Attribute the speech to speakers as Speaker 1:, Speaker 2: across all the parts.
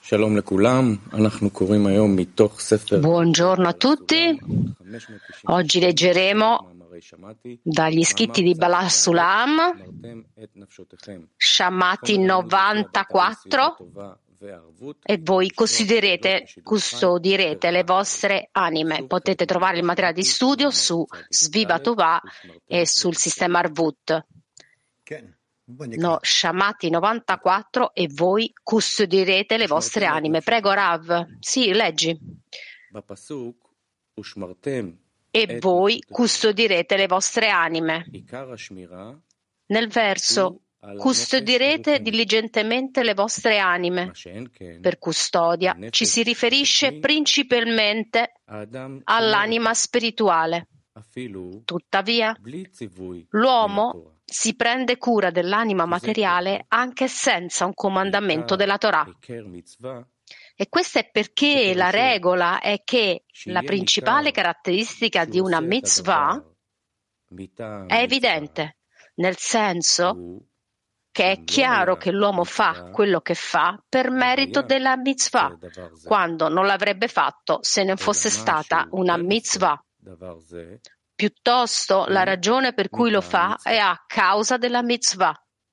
Speaker 1: Buongiorno a tutti. Oggi leggeremo dagli scritti di Baal Sulam, Shamati 94, e voi custodirete le vostre anime. Potete trovare il materiale di studio su Sviva Tovah e sul sistema Arvut. No, Shamati 94, e voi custodirete le vostre anime. Prego, Rav. Sì, leggi. E voi custodirete le vostre anime. Nel verso, custodirete diligentemente le vostre anime. Per custodia ci si riferisce principalmente all'anima spirituale. Tuttavia, l'uomo si prende cura dell'anima materiale anche senza un comandamento della Torah. E questo è perché la regola è che la principale caratteristica di una mitzvah è evidente, nel senso che è chiaro che l'uomo fa quello che fa per merito della mitzvah, quando non l'avrebbe fatto se non fosse stata una mitzvah. Piuttosto, la ragione per cui lo fa è a causa della mitzvah.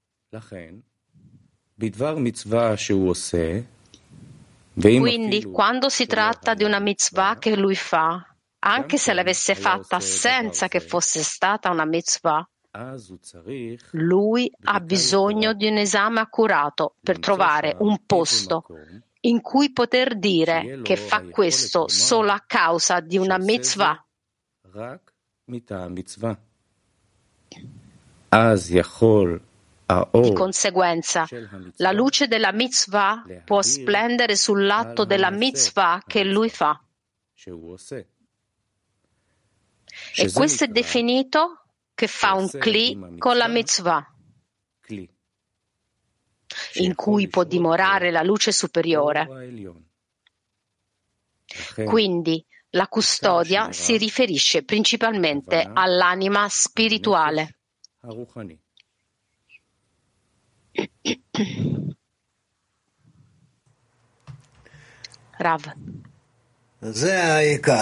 Speaker 1: Quindi, quando si tratta di una mitzvah che lui fa, anche se l'avesse fatta senza che fosse stata una mitzvah, lui ha bisogno di un esame accurato per trovare un posto in cui poter dire che fa questo solo a causa di una mitzvah. Di conseguenza, la luce della mitzvah può splendere sull'atto della mitzvah che lui fa. E questo è definito che fa un kli con la mitzvah, in cui può dimorare la luce superiore. Quindi, la custodia si riferisce principalmente all'anima spirituale. Rav.
Speaker 2: Questa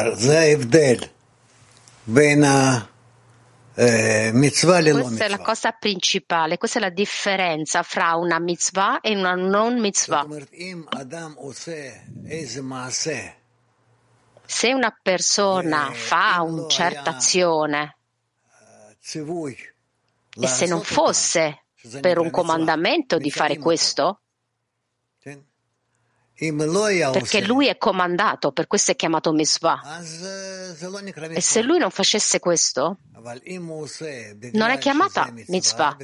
Speaker 1: è la cosa principale, questa è la differenza fra una mitzvah e una non mitzvah. Se una persona fa una certa azione e se non fosse per un comandamento di fare questo, perché lui è comandato, per questo è chiamato mitzvah. E se lui non facesse questo, non è chiamata mitzvah.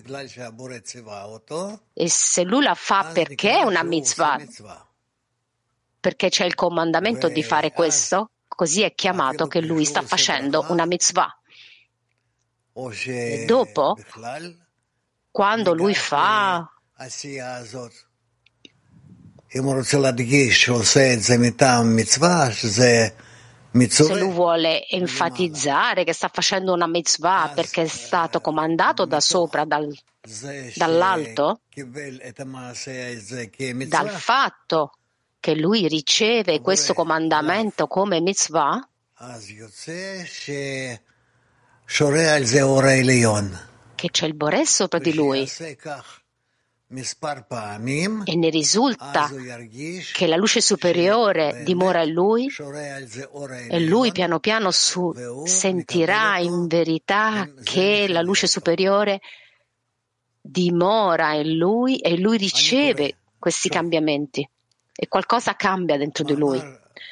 Speaker 1: E se lui la fa perché è una mitzvah, perché c'è il comandamento di fare questo, così è chiamato che lui sta facendo una mitzvah. E dopo, quando lui fa, se lui vuole enfatizzare che sta facendo una mitzvah perché è stato comandato da sopra, dall'alto, dal fatto che lui riceve questo comandamento come mitzvah, che c'è il Boré sopra di lui, e ne risulta che la luce superiore dimora in lui, e lui piano piano sentirà in verità che la luce superiore dimora in lui e lui riceve questi cambiamenti e qualcosa cambia dentro di lui.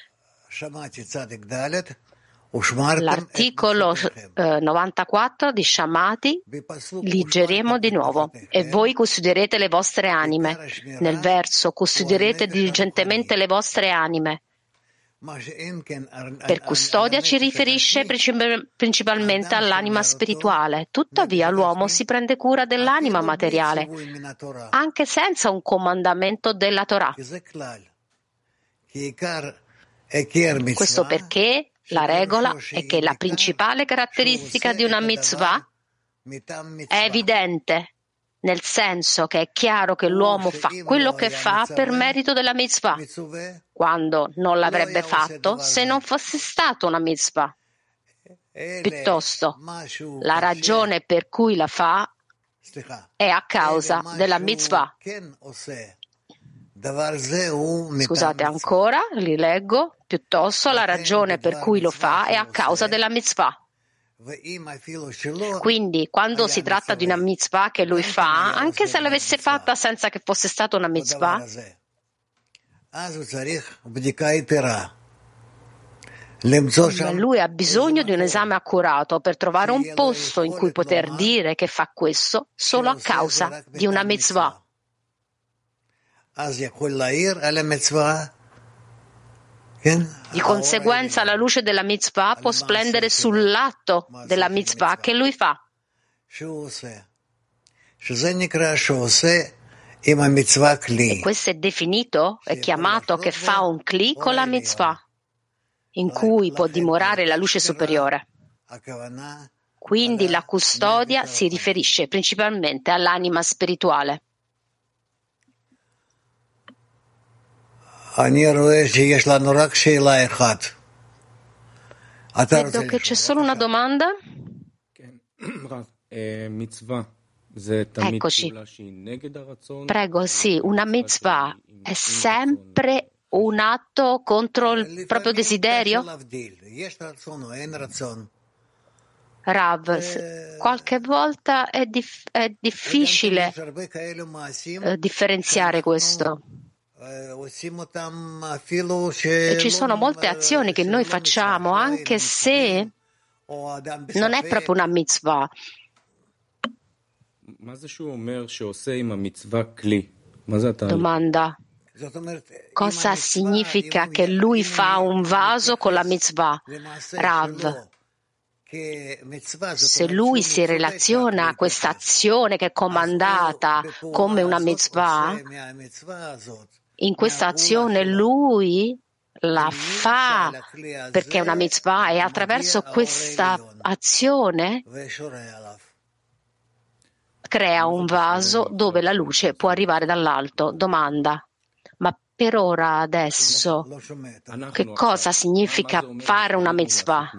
Speaker 1: L'articolo 94 di Shamati leggeremo di nuovo. E voi custodirete le vostre anime. Nel verso, custodirete diligentemente le vostre anime. Per custodia ci riferisce principalmente all'anima spirituale. Tuttavia l'uomo si prende cura dell'anima materiale, anche senza un comandamento della Torah. Questo perché la regola è che la principale caratteristica di una mitzvah è evidente, nel senso che è chiaro che l'uomo fa quello che fa per merito della mitzvah, quando non l'avrebbe fatto se non fosse stata una mitzvah. Piuttosto, la ragione per cui la fa è a causa della mitzvah. Scusate ancora, li leggo. Piuttosto, la ragione per cui lo fa è a causa della mitzvah. Quindi, quando si tratta di una mitzvah che lui fa, anche se l'avesse fatta senza che fosse stata una mitzvah, lui ha bisogno di un esame accurato per trovare un posto in cui poter dire che fa questo solo a causa di una mitzvah. Di conseguenza la luce della mitzvah può splendere sull'atto della mitzvah che lui fa. E questo è definito, è chiamato che fa un kli con la mitzvah, in cui può dimorare la luce superiore. Quindi la custodia si riferisce principalmente all'anima spirituale. Vedo che c'è solo una domanda. Eccoci. Prego, sì, una mitzvah è sempre un atto contro il proprio desiderio? Rav, qualche volta è difficile differenziare questo. E ci sono molte azioni che noi facciamo anche se non è proprio una mitzvah. Domanda. Cosa significa che lui fa un vaso con la mitzvah? Rav, se lui si relaziona a questa azione che è comandata come una mitzvah, in questa azione lui la fa perché è una mitzvah e attraverso questa azione crea un vaso dove la luce può arrivare dall'alto. Domanda. Ma per ora adesso che cosa significa fare una mitzvah?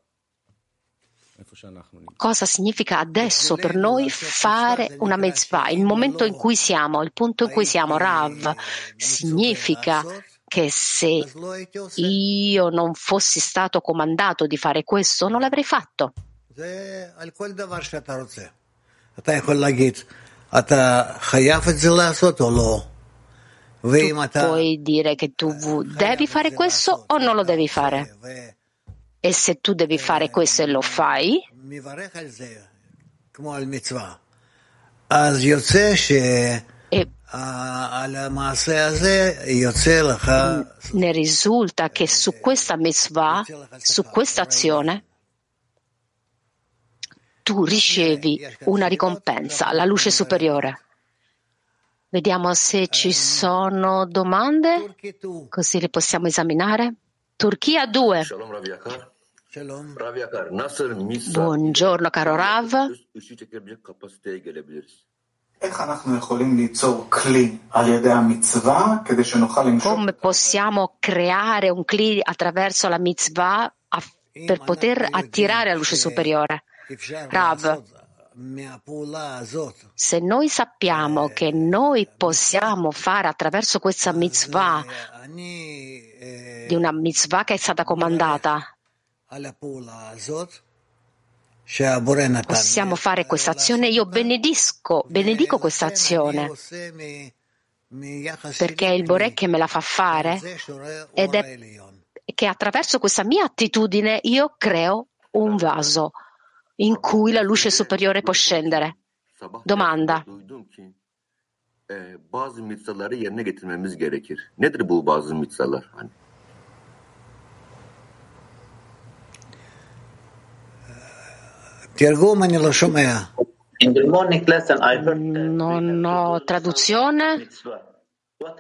Speaker 1: Cosa significa adesso per noi fare una mitzvah? Il momento in cui siamo, il punto in cui siamo, Rav, significa che se io non fossi stato comandato di fare questo, non l'avrei fatto. Tu puoi dire che tu devi fare questo o non lo devi fare. E se tu devi fare questo e lo fai, ne risulta che su questa mitzvah, su questa azione, tu ricevi una ricompensa, la luce superiore. Vediamo se ci sono domande, così le possiamo esaminare. Turchia 2. Buongiorno caro Rav. Come possiamo creare un kli attraverso la mitzvah per poter attirare la luce superiore? Rav, se noi sappiamo che noi possiamo fare attraverso questa mitzvah, di una mitzvah che è stata comandata, possiamo fare questa azione, io benedico questa azione, perché è il Boré che me la fa fare ed è che attraverso questa mia attitudine io creo un vaso in cui la luce superiore può scendere. Domanda.
Speaker 3: Bazı mitzvaları yerine getirmemiz gerekir. Nedir bu bazı mitzvalar?
Speaker 2: In the morning lesson I heard
Speaker 1: non ho traduzione.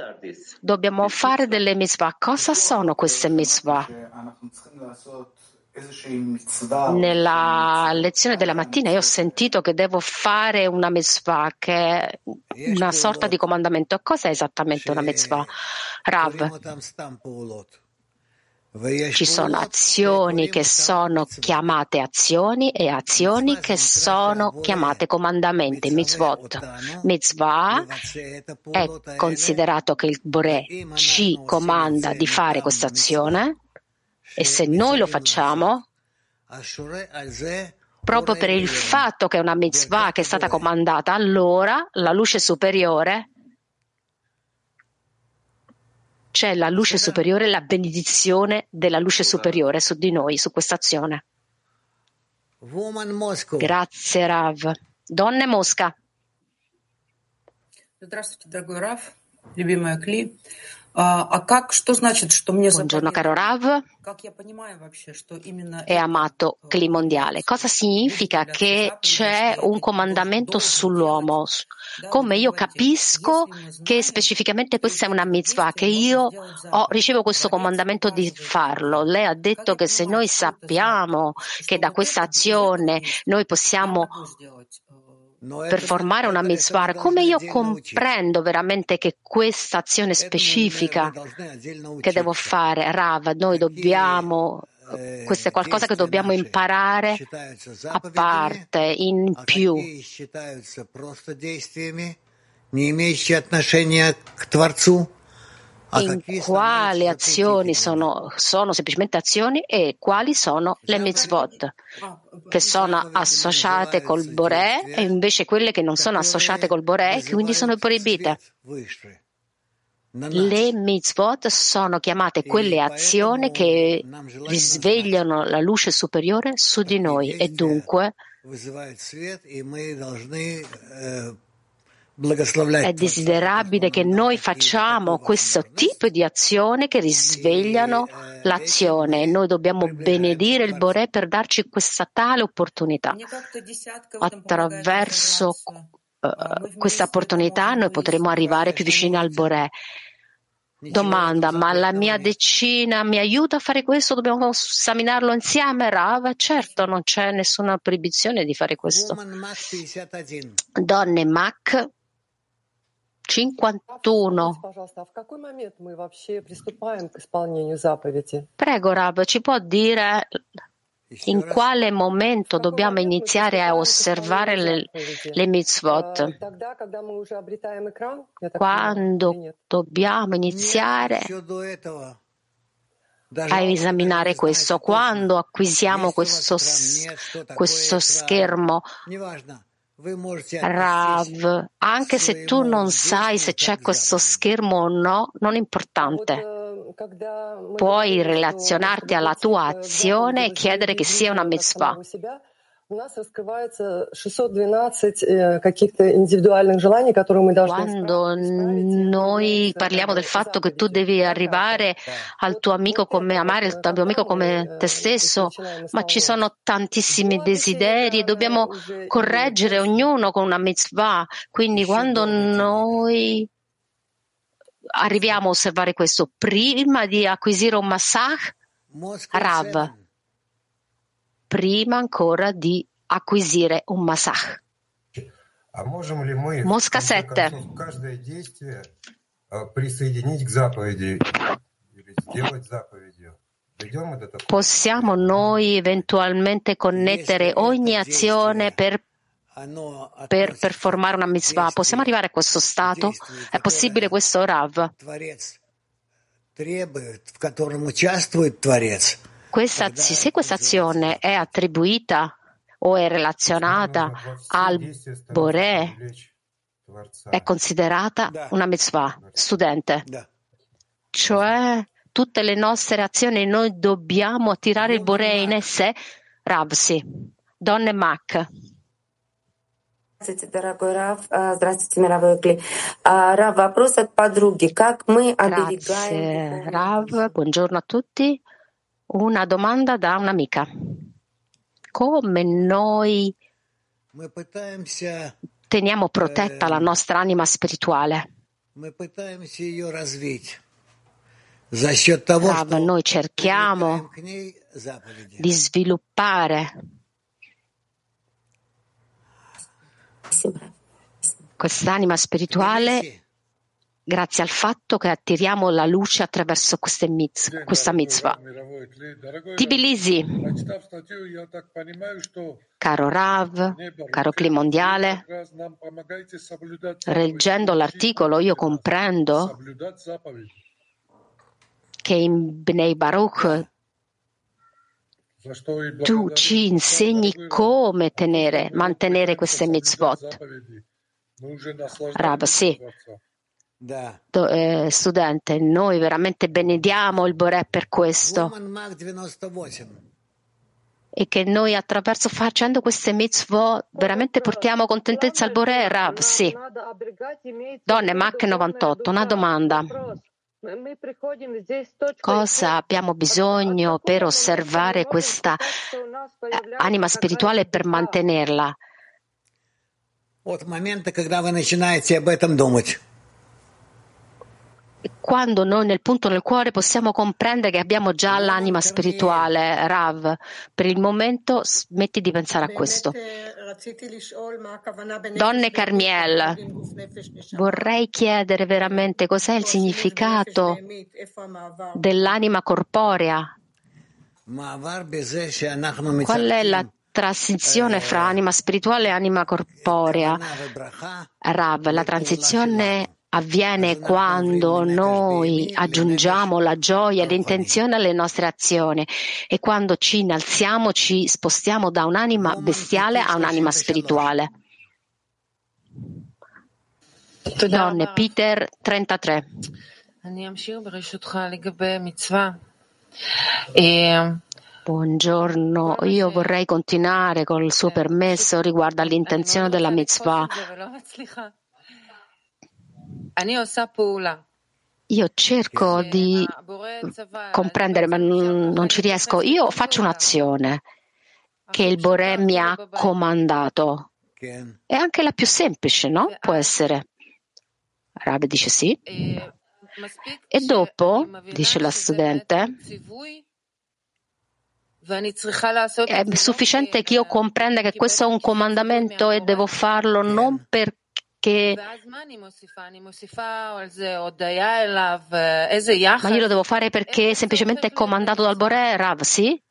Speaker 1: Dobbiamo fare delle mitzvah. Cosa sono queste mitzvah? Nella lezione della mattina io ho sentito che devo fare una mitzvah, che è una sorta di comandamento. Cosa è esattamente una mitzvah? Rav, ci sono azioni che sono chiamate azioni e azioni che sono chiamate comandamenti, mitzvot. Mitzvah è considerato che il Boré ci comanda di fare questa azione e se noi lo facciamo, proprio per il fatto che è una mitzvah che è stata comandata, allora la luce superiore, c'è la luce superiore, la benedizione della luce superiore su di noi, su questa azione. Grazie, Rav. Donne Mosca. Buongiorno caro Rav e amato Kli mondiale. Cosa significa che c'è un comandamento sull'uomo? Come io capisco che specificamente questa è una mitzvah, che io ricevo questo comandamento di farlo? Lei ha detto che se noi sappiamo che da questa azione noi possiamo performare una mitzvah, come io comprendo veramente che questa azione specifica che devo fare, Rav, noi dobbiamo, questo è qualcosa che dobbiamo imparare a parte, in più. In quali azioni sono semplicemente azioni e quali sono le mitzvot che sono associate col Boré e invece quelle che non sono associate col Boré e quindi sono proibite. Le mitzvot sono chiamate quelle azioni che risvegliano la luce superiore su di noi e dunque è desiderabile che noi facciamo questo tipo di azione che risvegliano l'azione e noi dobbiamo benedire il Boré per darci questa tale opportunità. Attraverso questa opportunità noi potremo arrivare più vicini al Boré. Domanda, ma la mia decina mi aiuta a fare questo? Dobbiamo esaminarlo insieme, Rav? Certo, non c'è nessuna proibizione di fare questo. Donne Mac 51. Prego, Rav, ci può dire in quale momento dobbiamo iniziare a osservare le mitzvot? Quando dobbiamo iniziare a esaminare questo? Quando acquisiamo questo schermo? Rav, anche se tu non sai se c'è questo schermo o no, non è importante. Puoi relazionarti alla tua azione e chiedere che sia una mitzvah. Quando noi parliamo del fatto che tu devi arrivare al tuo amico come amare il tuo amico come te stesso, ma ci sono tantissimi desideri e dobbiamo correggere ognuno con una mitzvah. Quindi quando noi arriviamo a osservare questo prima di acquisire un masach, Rav, prima ancora di acquisire un masach. Mosca 7. Possiamo noi eventualmente connettere ogni azione per performare una mitzvah? Possiamo arrivare a questo stato? È possibile questo, Rav? Se questa azione è attribuita o è relazionata al Boré, è considerata una mitzvah. Studente, cioè tutte le nostre azioni noi dobbiamo attirare il Boré in esse? Rav, sì. Donne Mac.
Speaker 4: Здравствуйте, дорогой Рав. Здравствуйте, мировой Кли. Рав, вопрос от подруги. Как мы оберегаем...
Speaker 1: Grazie, Rav. Buongiorno a tutti. Una domanda da un'amica. Come noi teniamo protetta la nostra anima spirituale? Rav, noi cerchiamo di sviluppare quest'anima spirituale grazie al fatto che attiriamo la luce attraverso questa mitzvah. Tbilisi, caro Rav, caro Cli Mondiale, leggendo l'articolo io comprendo che in Bnei Baruch tu ci insegni come mantenere queste mitzvot. Rav, sì. Studente, noi veramente benediamo il Boré per questo e che noi facendo queste mitzvot veramente portiamo contentezza al Boré. Rav, sì. Donne, Mach 98, una domanda. Cosa abbiamo bisogno per osservare questa anima spirituale e per mantenerla? Quando noi nel punto nel cuore possiamo comprendere che abbiamo già l'anima spirituale, Rav, per il momento smetti di pensare a questo. Donne Carmiel, vorrei chiedere veramente cos'è il significato dell'anima corporea. Qual è la transizione fra anima spirituale e anima corporea? Rav, la transizione avviene quando noi aggiungiamo la gioia e l'intenzione alle nostre azioni e quando ci innalziamo, ci spostiamo da un'anima bestiale a un'anima spirituale. Donne, Peter 33. Buongiorno, io vorrei continuare con il suo permesso riguardo all'intenzione della mitzvah. Io cerco di comprendere, ma non ci riesco. Io faccio un'azione che il Boré mi ha comandato. È anche la più semplice, no? Può essere. Rav dice sì. E dopo, dice la studente, è sufficiente che io comprenda che questo è un comandamento e devo farlo non perché ma io lo devo fare perché semplicemente è comandato dal Boré, Rav, sì?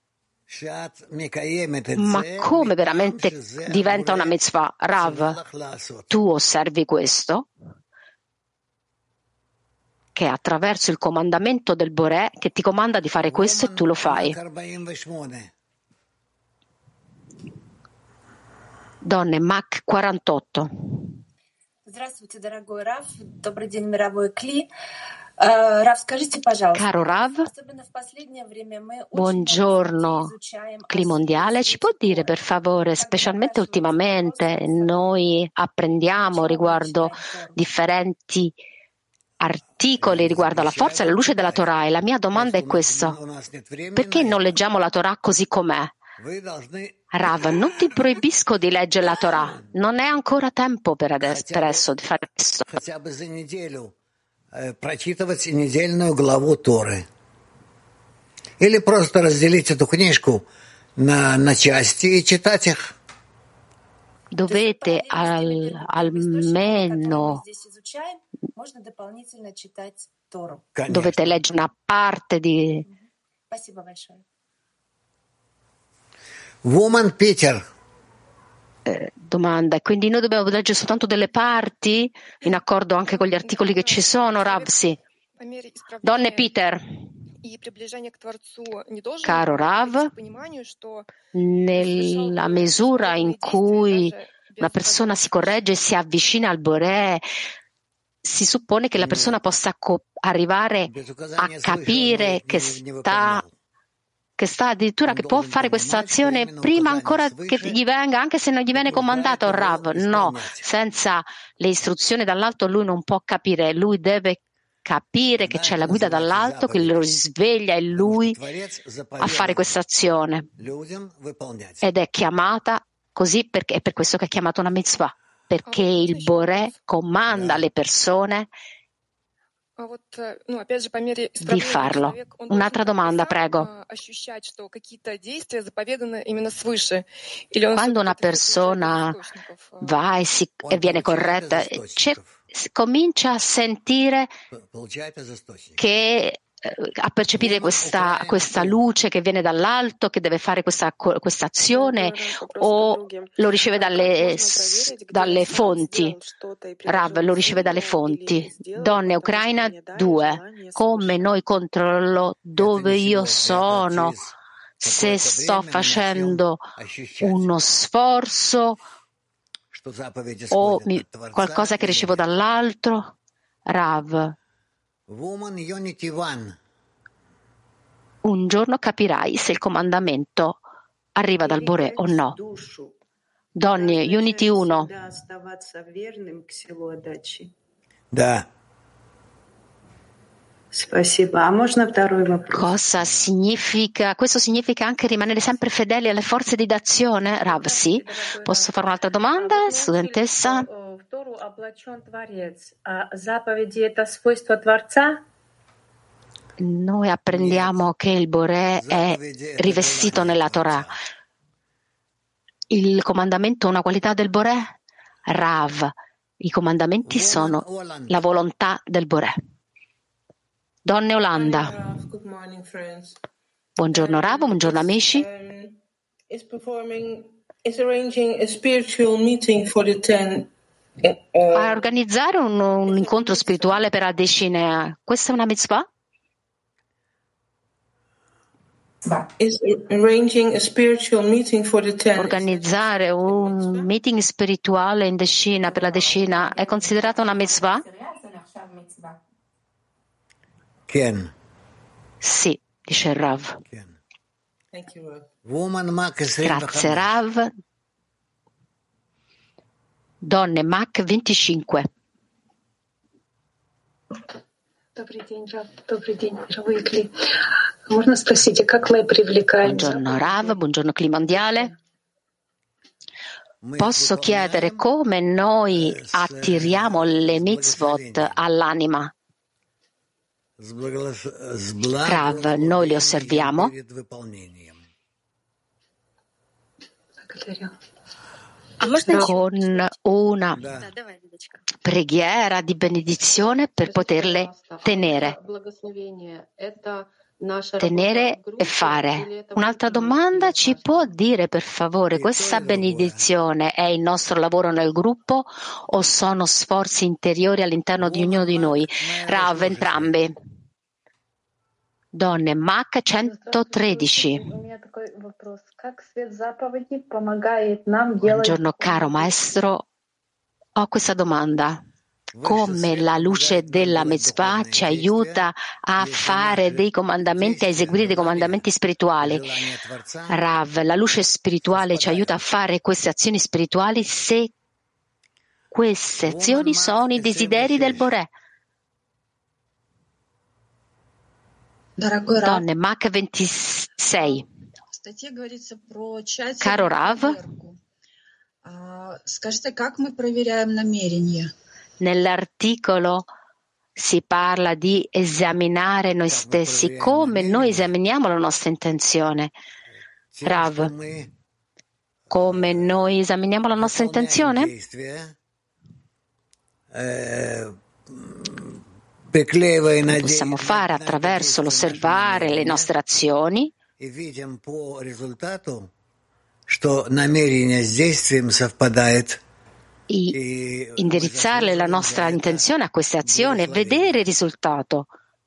Speaker 1: Ma come veramente diventa una mitzvah? Rav, tu osservi questo? Che è attraverso il comandamento del Boré che ti comanda di fare questo e tu lo fai. Donne, Mach 48.
Speaker 5: Здравствуйте, дорогой Рав. Добрый день, мировой Кли. Рав, скажите, пожалуйста,
Speaker 1: Caro Rav,
Speaker 5: особенно в последнее время мы
Speaker 1: buongiorno, Cli Mondiale, ci può dire per favore, specialmente ultimamente, noi apprendiamo riguardo differenti articoli riguardo alla forza e alla luce della Torah e la mia domanda è questa: perché non leggiamo la Torah così com'è? Rav, non ti proibisco di leggere la Torah, non è ancora tempo per adesso di fare questo.
Speaker 6: Прочитывать недельную главу Торы. Или просто разделить эту книжку на части и читать их.
Speaker 1: Dovete almeno dovete leggere una parte di
Speaker 6: Woman Peter.
Speaker 1: Domanda, quindi noi dobbiamo leggere soltanto delle parti in accordo anche con gli articoli che ci sono, Rav? Sì. Donne Peter, caro Rav, nella misura in cui una persona si corregge e si avvicina al Boré, si suppone che la persona possa arrivare a capire che sta addirittura che può fare questa azione prima ancora che gli venga, anche se non gli viene comandato, Rav. No, senza le istruzioni dall'alto lui non può capire, lui deve capire che c'è la guida dall'alto che lo risveglia in lui a fare questa azione ed è chiamata così perché è per questo che è chiamata una mitzvah, perché il Boré comanda alle persone di farlo. Un'altra domanda, prego. Quando una persona va e viene corretta, comincia a sentire che a percepire questa luce che viene dall'alto, che deve fare questa azione, o lo riceve dalle fonti? Rav, lo riceve dalle fonti. Donne Ucraina 2. Come noi controllo dove io sono, se sto facendo uno sforzo o qualcosa che ricevo dall'altro? Rav, un giorno capirai se il comandamento arriva dal Boré o no. Donne, Unity 1.
Speaker 6: Da.
Speaker 1: Cosa significa? Questo significa anche rimanere sempre fedeli alle forze di d'azione? Rav, sì. Posso fare un'altra domanda, studentessa? Noi apprendiamo che il Boré è rivestito nella Torah. Il comandamento è una qualità del Boré? Rav, i comandamenti sono la volontà del Boré. Donne Olanda. Buongiorno Rav, buongiorno amici. A organizzare un incontro spirituale per la decina, questa è una mitzvah? Organizzare un meeting spirituale in decina per la decina è considerata una mitzvah?
Speaker 6: Ken.
Speaker 1: Sì, dice il Rav. Grazie Rav. Donne Mac 25. Buongiorno Rav, buongiorno Cli Mondiale. Posso chiedere come noi attiriamo le mitzvot all'anima? Rav, noi le osserviamo con una preghiera di benedizione per poterle tenere e fare. Un'altra domanda, ci può dire per favore, questa benedizione è il nostro lavoro nel gruppo o sono sforzi interiori all'interno di ognuno di noi? Rav, entrambi. Donne, Mac 113. Buongiorno caro maestro, ho questa domanda. Come la luce della mitzvah ci aiuta a fare dei comandamenti, a eseguire dei comandamenti spirituali? Rav, la luce spirituale ci aiuta a fare queste azioni spirituali se queste azioni sono i desideri del Boré. Donne, Mac 26. Caro Rav, nell'articolo si parla di esaminare noi stessi. Come noi esaminiamo la nostra intenzione? Rav, come noi esaminiamo la nostra intenzione? Lo possiamo fare attraverso l'osservare le nostre azioni indirizzare la nostra intenzione a queste azioni e vedere il risultato.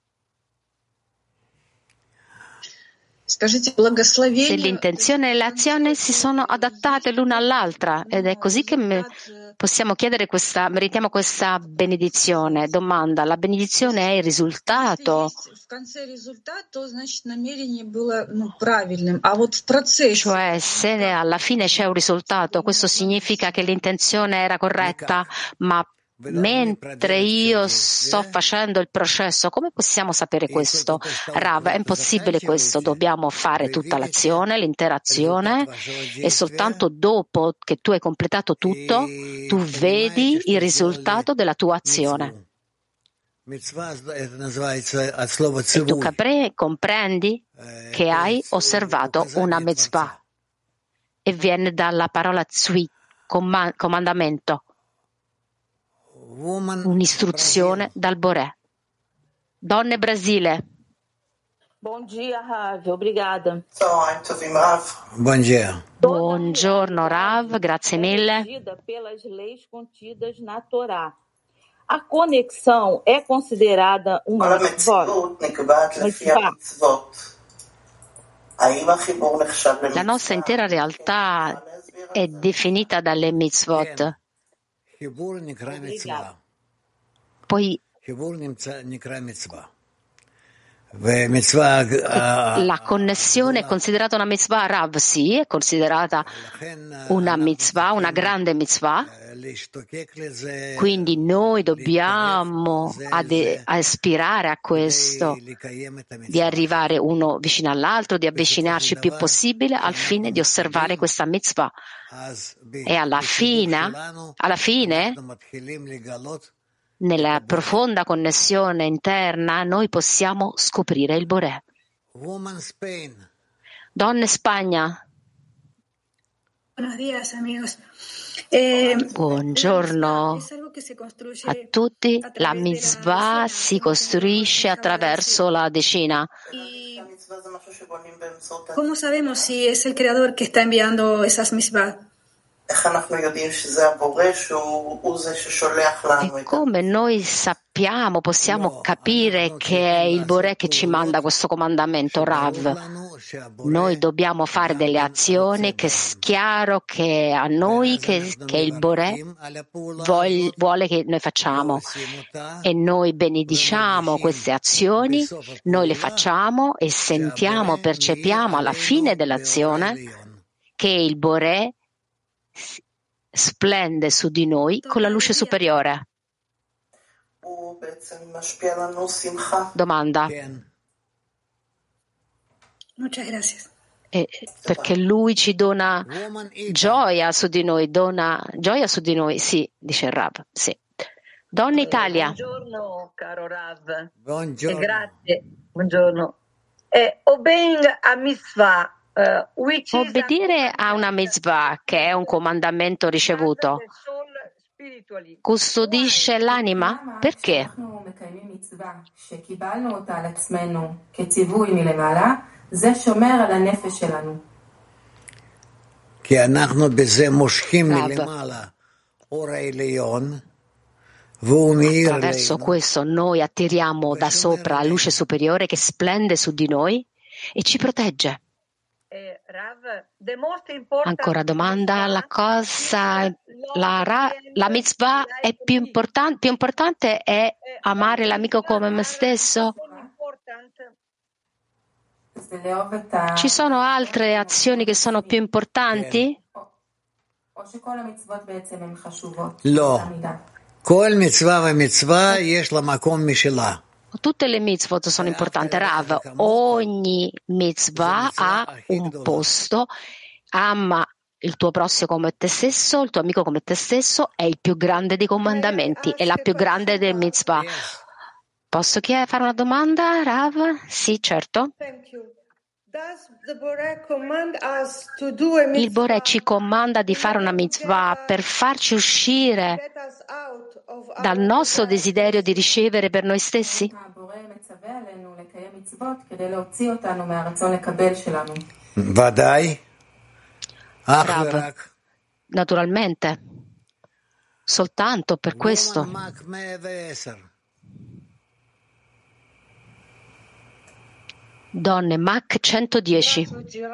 Speaker 1: Se l'intenzione e l'azione si sono adattate l'una all'altra, ed è così che possiamo chiedere meritiamo questa benedizione. Domanda, la benedizione è il risultato? Cioè, se alla fine c'è un risultato, questo significa che l'intenzione era corretta, ma mentre io sto facendo il processo, come possiamo sapere questo? Rav, è impossibile questo, dobbiamo fare tutta l'azione, l'intera azione, e soltanto dopo che tu hai completato tutto, tu vedi il risultato della tua azione. E tu comprendi che hai osservato una mitzvah e viene dalla parola tzvi, comandamento, un'istruzione dal Boré. Donne Brasile.
Speaker 7: Buongiorno Rav, obrigada.
Speaker 1: Buongiorno Rav, grazie mille.
Speaker 7: Pelas leis contidas na Torá. A conexão é considerada uma mitzvot?
Speaker 1: La nostra intera realtà è definita dalle mitzvot. Poi la connessione è considerata una mitzvah, Rav? Sì, è considerata una mitzvah, una grande mitzvah. Quindi noi dobbiamo aspirare a questo, di arrivare uno vicino all'altro, di avvicinarci il più possibile al fine di osservare questa mitzvah. E alla fine, nella profonda connessione interna, noi possiamo scoprire il Boré. Donne Spagna.
Speaker 5: Buenos días, amigos.
Speaker 1: Buongiorno a tutti. La mitzvah si costruisce attraverso la decina.
Speaker 5: ¿Cómo sabemos si es el creador que está enviando esas mitzvah?
Speaker 1: E come noi sappiamo, possiamo capire che è il Boré che ci manda questo comandamento, Rav? Noi dobbiamo fare delle azioni che è chiaro che a noi che il Boré vuole che noi facciamo, e noi benediciamo queste azioni, noi le facciamo e sentiamo, percepiamo alla fine dell'azione che il Boré splende su di noi con la luce superiore. Domanda.
Speaker 5: Muchas gracias.
Speaker 1: Perché lui ci dona gioia su di noi, sì, dice il Rav, sì. Donna Italia.
Speaker 8: Buongiorno, caro Rav.
Speaker 6: Buongiorno.
Speaker 8: Grazie. Buongiorno. Obeying a mitzvah.
Speaker 1: Obbedire a una mitzvah, che è un comandamento ricevuto, custodisce l'anima? Perché? Attraverso questo noi attiriamo da sopra la luce superiore che splende su di noi e ci protegge. Ancora domanda, la mitzvah è più importante è amare l'amico come me stesso? Ci sono altre azioni che sono più importanti? Tutte le mitzvot sono importanti, Rav. Ogni mitzvah ha un posto. Ama il tuo prossimo come te stesso, il tuo amico come te stesso, è il più grande dei comandamenti, è la più grande delle mitzvah. Posso fare una domanda, Rav? Sì, certo. Il Boré ci comanda di fare una mitzvah per farci uscire dal nostro desiderio di ricevere per noi stessi? Rav, naturalmente, soltanto per questo. Donne, Mach 110.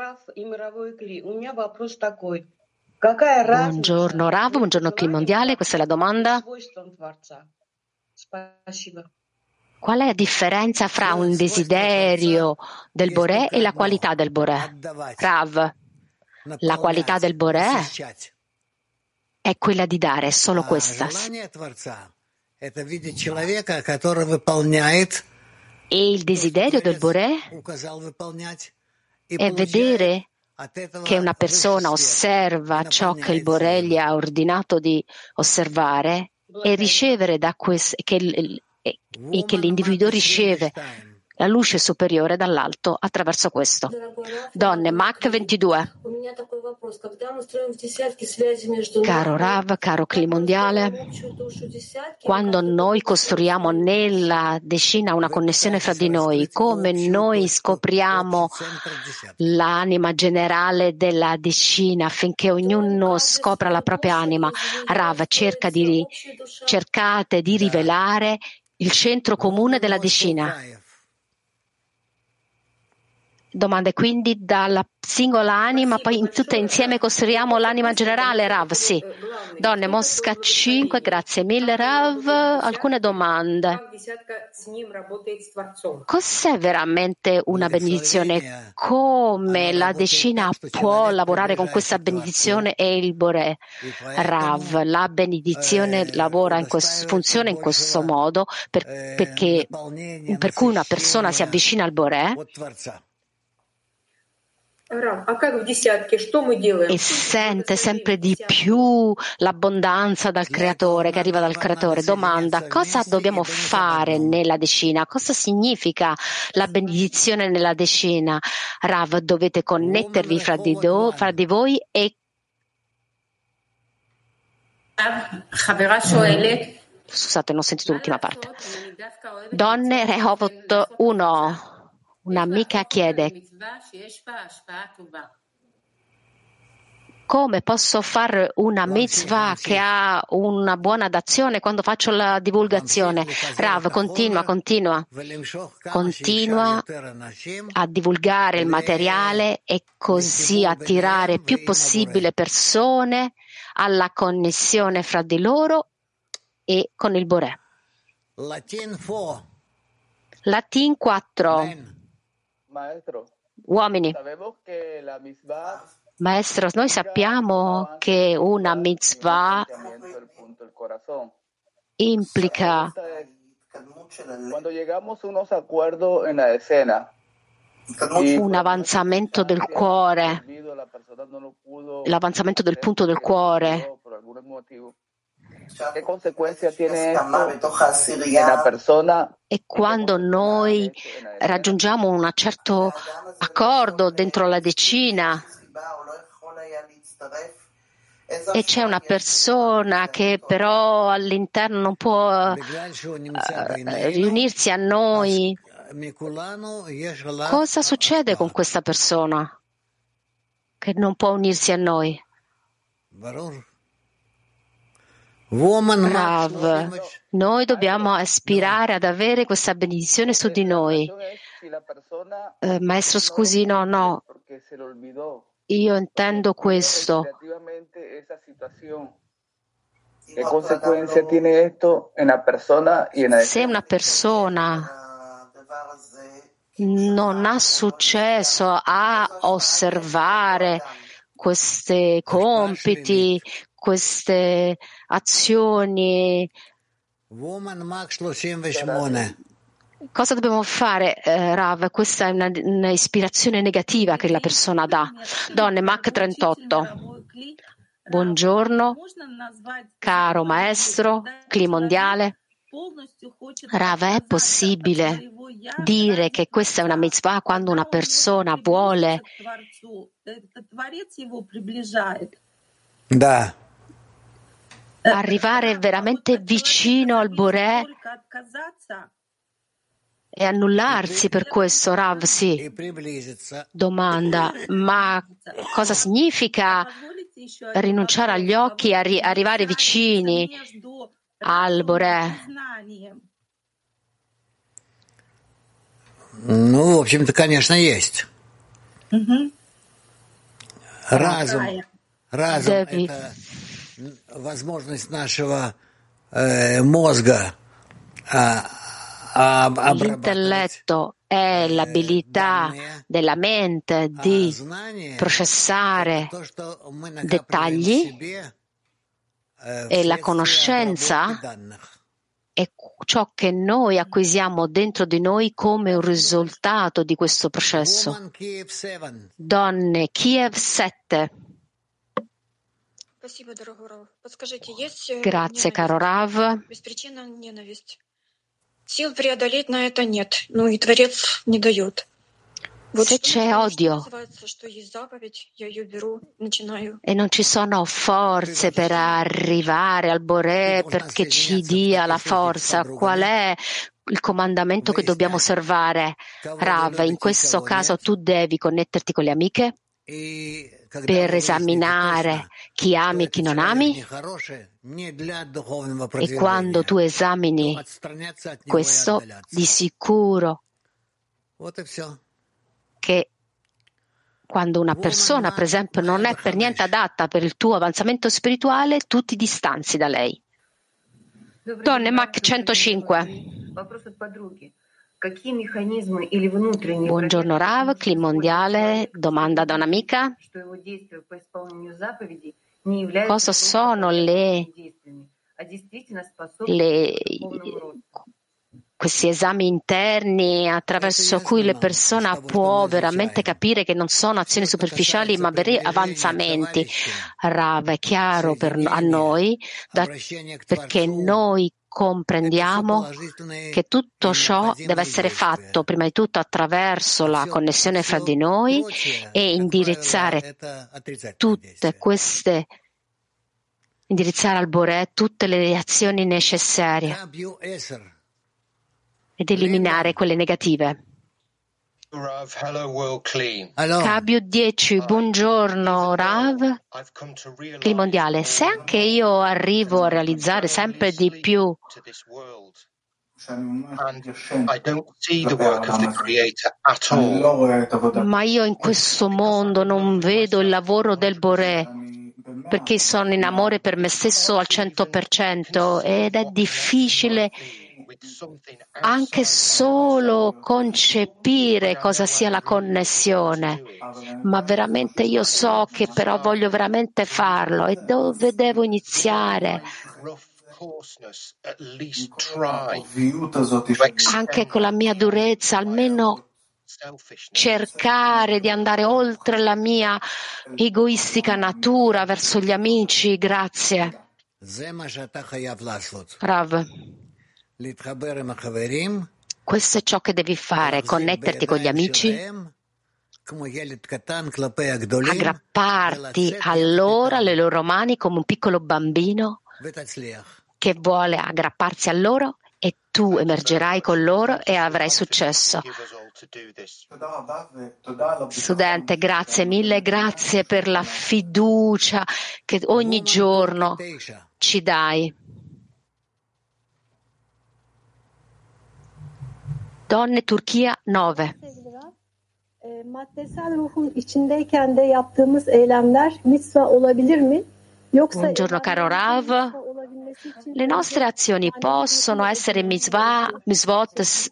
Speaker 1: Buongiorno Rav, buongiorno Clima Mondiale, questa è la domanda. Qual è la differenza fra un desiderio del Boré e la qualità del Boré? Rav, la qualità del Boré è quella di dare, è solo questa. E il desiderio del Boré è vedere che una persona osserva ciò che il Boré gli ha ordinato di osservare e ricevere da questo, che e che l'individuo riceve la luce superiore dall'alto attraverso questo. Donne, Mach 22. Caro Rav, caro Cli mondiale, quando noi costruiamo nella decina una connessione fra di noi, come noi scopriamo l'anima generale della decina affinché ognuno scopra la propria anima, Rav, cercate di rivelare il centro comune della decina. Domanda, quindi dalla singola anima poi tutte insieme costruiamo l'anima generale, Rav? Sì. Donne, Mosca 5, grazie mille, Rav. Alcune domande. Cos'è veramente una benedizione? Come la decina può lavorare con questa benedizione e il Boré? Rav, la benedizione funziona in questo modo per cui una persona si avvicina al Boré e sente sempre di più l'abbondanza dal Creatore, che arriva dal Creatore. Domanda, cosa dobbiamo fare nella decina? Cosa significa la benedizione nella decina? Rav, dovete connettervi fra di voi e... Scusate, non ho sentito l'ultima parte. Donne, Rehovot 1. Un'amica chiede: come posso fare una mitzvah che ha una buona d'azione quando faccio la divulgazione? Rav, continua a divulgare il materiale e così attirare il più possibile persone alla connessione fra di loro e con il Boré. Latin 4. Uomini. Maestro, noi sappiamo che una mitzvah implica un avanzamento del cuore, l'avanzamento del punto del cuore.
Speaker 9: Che conseguenze tiene una persona?
Speaker 1: E quando noi raggiungiamo un certo accordo dentro la decina e c'è una persona che però all'interno non può riunirsi a noi, cosa succede con questa persona che non può unirsi a noi? Rav, noi dobbiamo aspirare ad avere questa benedizione su di noi. Maestro, scusi, no. Io intendo questo.
Speaker 9: Che conseguenze tiene questo in una persona?
Speaker 1: Se una persona non ha successo a osservare questi compiti, queste azioni, cosa dobbiamo fare, Rav? Questa è una ispirazione negativa che la persona dà. Donne, Mach 38. Buongiorno, caro maestro, Cli mondiale. Rav, è possibile dire che questa è una mitzvah quando una persona vuole arrivare veramente vicino al Boré e annullarsi per questo, Rav? Sì. Domanda, ma cosa significa rinunciare agli occhi e arrivare vicini al Boré?
Speaker 6: Ну, в общем-то, конечно, есть. Разум — это возможность нашего мозга
Speaker 1: L'intelletto è l'abilità della mente di processare dettagli e la conoscenza è ciò che noi acquisiamo dentro di noi come un risultato di questo processo. Donne, Kiev 7. Grazie, caro Rav.
Speaker 10: Сил преодолеть на это нет. Ну и Творец не дает.
Speaker 1: Se c'è odio e non ci sono forze per arrivare al Boré perché ci dia la forza, qual è il comandamento che dobbiamo osservare? Rav, in questo caso tu devi connetterti con le amiche per esaminare chi ami e chi non ami, e quando tu esamini questo, di sicuro che quando una persona, per esempio, non è per niente adatta per il tuo avanzamento spirituale, tu ti distanzi da lei. Donne Mac 105. Buongiorno Rav, Cli mondiale, domanda da un'amica. Cosa sono questi esami interni attraverso cui la persona può veramente capire che non sono azioni superficiali ma veri avanzamenti? Rav, è chiaro a noi perché noi comprendiamo che tutto ciò deve essere fatto prima di tutto attraverso la connessione fra di noi e indirizzare al Boré tutte le azioni necessarie ed eliminare quelle negative. Cabio 10, buongiorno Rav, Cli mondiale. Se anche io arrivo a realizzare sempre di più ma io in questo mondo non vedo il lavoro del Boré perché sono in amore per me stesso al 100% ed è difficile anche solo concepire cosa sia la connessione, ma veramente io so che però voglio veramente farlo e dove devo iniziare? Anche con la mia durezza, almeno cercare di andare oltre la mia egoistica natura verso gli amici. Grazie. Rav, questo è ciò che devi fare, connetterti con gli amici, aggrapparti a loro, alle loro mani come un piccolo bambino che vuole aggrapparsi a loro, e tu emergerai con loro e avrai successo. Studente, grazie mille, grazie per la fiducia che ogni giorno ci dai. Donne Turchia 9.
Speaker 11: Maddesel ruhun içindeyken de yaptığımız eylemler mitzvah olabilir mi?
Speaker 1: Buongiorno caro Rav, le nostre azioni possono essere mitzvot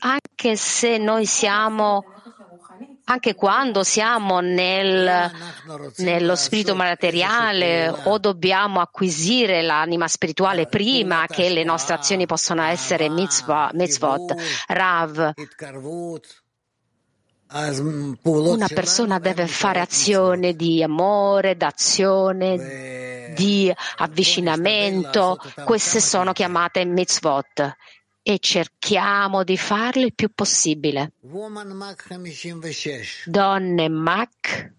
Speaker 1: anche quando siamo nello spirito materiale, o dobbiamo acquisire l'anima spirituale prima che le nostre azioni possano essere mitzvot. Rav, una persona deve fare azione di amore, d'azione, di avvicinamento. Queste sono chiamate mitzvot e cerchiamo di farle il più possibile. Donne Mac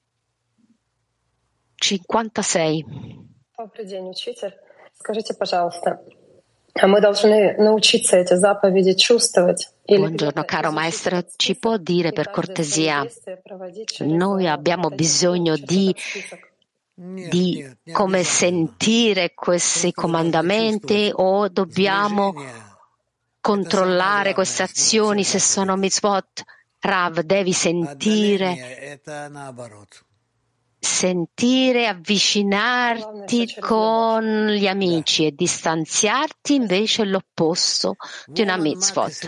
Speaker 1: 56.
Speaker 12: Добрый день, учитель. Скажите, пожалуйста, мы должны научиться эти заповеди чувствовать?
Speaker 1: Buongiorno caro maestro, ci può dire per cortesia, noi abbiamo bisogno di come sentire questi comandamenti o dobbiamo controllare queste azioni se sono mitzvot? Rav, devi sentire, avvicinarti con gli amici e distanziarti invece è l'opposto di una mitzvot.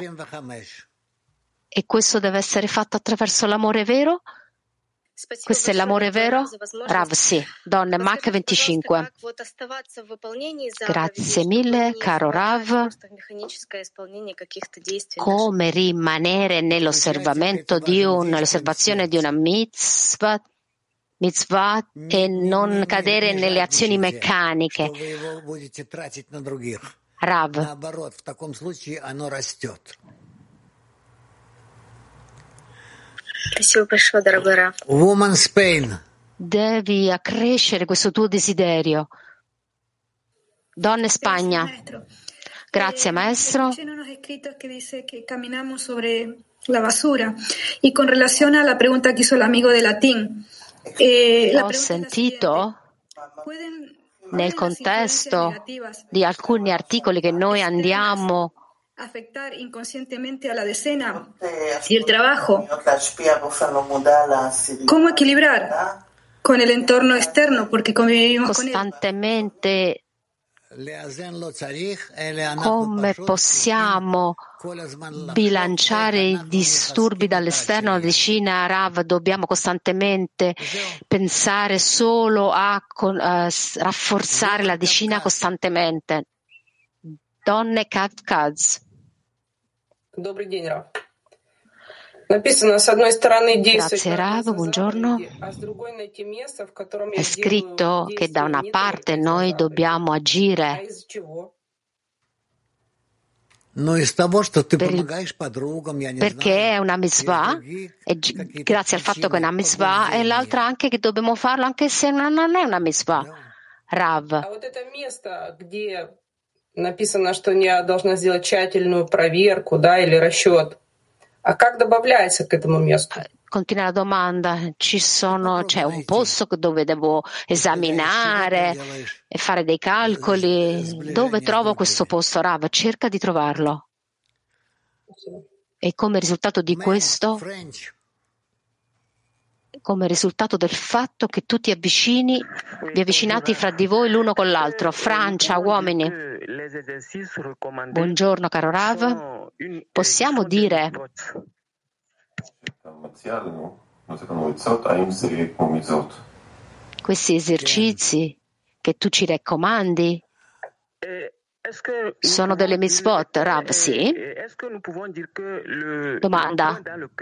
Speaker 1: E questo deve essere fatto attraverso l'amore vero? Questo è l'amore vero? Rav, sì. Donne Mac 25. Grazie mille, caro Rav. Come rimanere nell'osservazione di una mitzvah e non cadere nelle azioni meccaniche? Rav.
Speaker 6: Наоборот, в таком случае оно растет.
Speaker 10: Спасибо большое, дорогой Рав.
Speaker 6: Woman's pain.
Speaker 1: Devi accrescere questo tuo desiderio. Donne Spagna. Grazie, maestro.
Speaker 10: La basura. Y con relación a la pregunta que hizo el amigo de latín.
Speaker 1: Ho sentito nel contesto di alcuni articoli che noi andiamo
Speaker 10: afectar inconscientemente a la decena y el trabajo. ¿Cómo equilibrar con el entorno externo? Porque convivimos
Speaker 1: costantemente. Come possiamo bilanciare i disturbi dall'esterno alla decina, Rav? Dobbiamo costantemente pensare solo a rafforzare la decina costantemente. Donne Kavkaz.
Speaker 13: Добрый день, Рав. Написано, с одной стороны,
Speaker 1: Grazie Rav, buongiorno. È scritto che da una parte noi dobbiamo agire perché è una mitzvah, e grazie al fatto che è una mitzvah, e l'altra anche che dobbiamo farlo anche se non è una mitzvah. Rav.
Speaker 13: Написано, что я должна сделать тщательную проверку, да, или расчет. А как добавляется к этому месту?
Speaker 1: Continua la domanda. C'è un posto dove devo esaminare e fare dei calcoli. Dove trovo questo posto, Rav? Cerca di trovarlo. E come risultato di questo, come risultato del fatto che tu vi avvicinate fra di voi l'uno con l'altro. Francia, uomini. Buongiorno, caro Rav. Possiamo dire questi esercizi che tu ci raccomandi sono delle mitzvot, Rav? Sì. Domanda.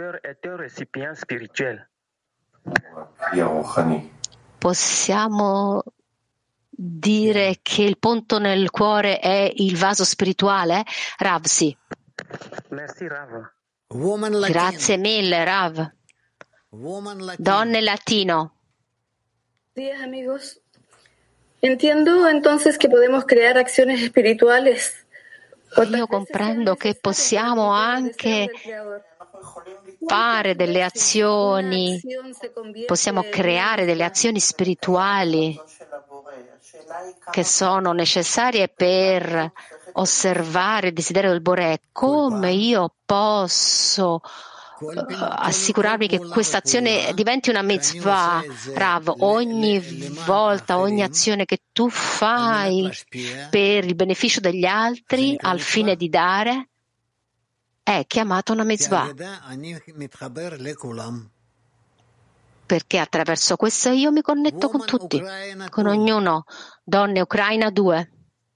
Speaker 1: Possiamo dire che il punto nel cuore è il vaso spirituale? Rav, sì. Grazie mille, Rav. Donne Latino.
Speaker 10: Días, amigos. Entiendo entonces que podemos crear acciones espirituales.
Speaker 1: Io comprendo che possiamo anche fare delle azioni, possiamo creare delle azioni spirituali che sono necessarie per osservare il desiderio del Boré. Come io posso assicurarmi che questa azione diventi una mitzvah, Rav? Ogni volta, ogni azione che tu fai per il beneficio degli altri al fine di dare è chiamata una mitzvah. Perché attraverso questo io mi connetto con tutti, con ognuno. Donne Ucraina 2.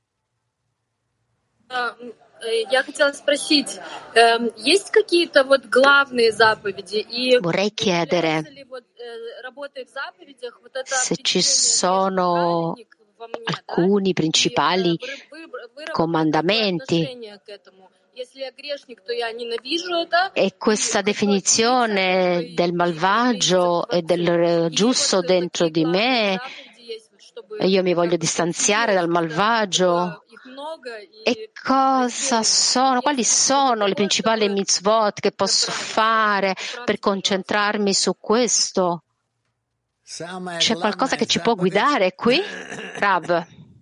Speaker 1: Vorrei chiedere se ci sono alcuni principali comandamenti e questa definizione del malvagio e del giusto dentro di me, e io mi voglio distanziare dal malvagio. E quali sono le principali mitzvot che posso fare per concentrarmi su questo? C'è qualcosa che ci può guidare qui? Rav.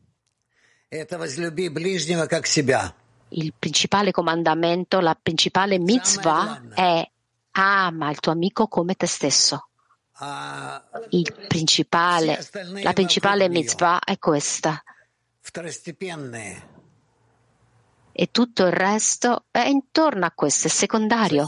Speaker 1: Il principale comandamento, la principale mitzvah è ama il tuo amico come te stesso. La principale mitzvah è questa. E tutto il resto è intorno a questo, è secondario.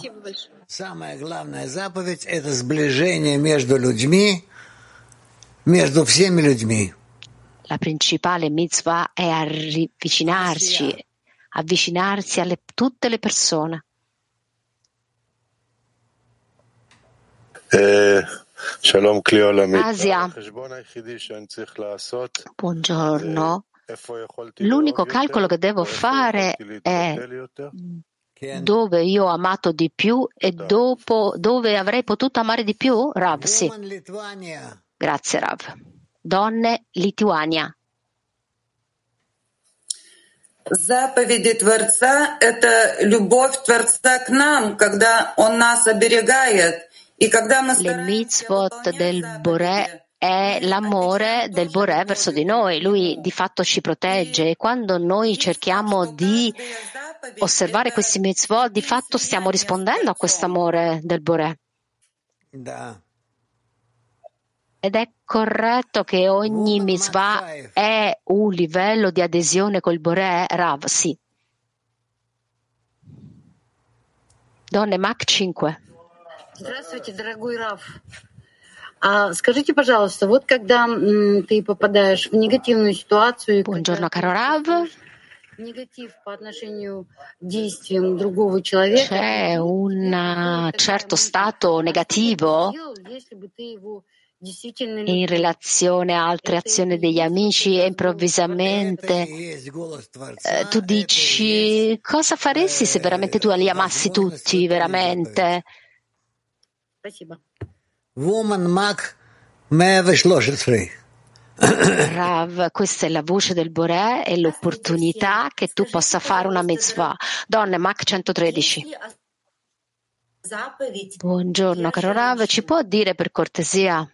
Speaker 1: La principale mitzvah è avvicinarsi a tutte le persone. Asia. Buongiorno. L'unico calcolo che devo fare è dove io ho amato di più e dopo dove avrei potuto amare di più? Rav, sì. Grazie, Rav. Donne, Lituania.
Speaker 14: Заповеди Творца – это любовь Творца к нам, когда Он нас оберегает, и когда мы
Speaker 1: Le mitzvot del Boré è l'amore del Boré verso di noi. Lui di fatto ci protegge e quando noi cerchiamo di osservare questi mitzvot, di fatto stiamo rispondendo a questo amore del Boré. Ed è corretto che ogni mitzvah è un livello di adesione col Boré, Rav? Sì. Donne, Mach 5.
Speaker 15: Здравствуйте, дорогой Рав. Скажите, пожалуйста, вот когда ты попадаешь в негативную ситуацию,
Speaker 1: Buongiorno, caro Rav.
Speaker 15: негатив по отношению к действиям другого человека,
Speaker 1: c'è un certo stato negativo
Speaker 15: если бы ты его действительно
Speaker 1: in relazione a altre azioni degli amici e improvvisamente tu dici cosa faresti se veramente tu li amassi tutti, veramente?
Speaker 15: Спасибо.
Speaker 6: Woman Mach 113.
Speaker 1: Rav, questa è la voce del Boré e l'opportunità che tu possa fare una mitzvah. Donne, Mach 113. Buongiorno, caro Rav, ci può dire per cortesia?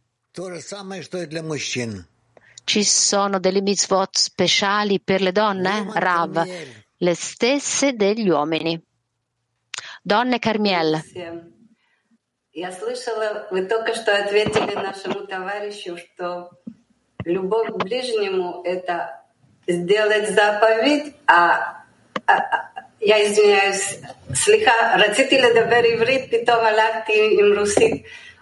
Speaker 1: Ci sono delle mitzvot speciali per le donne? Rav, le stesse degli uomini. Donne, Carmiel.
Speaker 16: Я слышала, вы только что ответили нашему товарищу, что любовь к ближнему – это сделать заповедь, я извиняюсь, סליחה, רציתי לדבר עברית, פתאום הלכתי עם רוסית.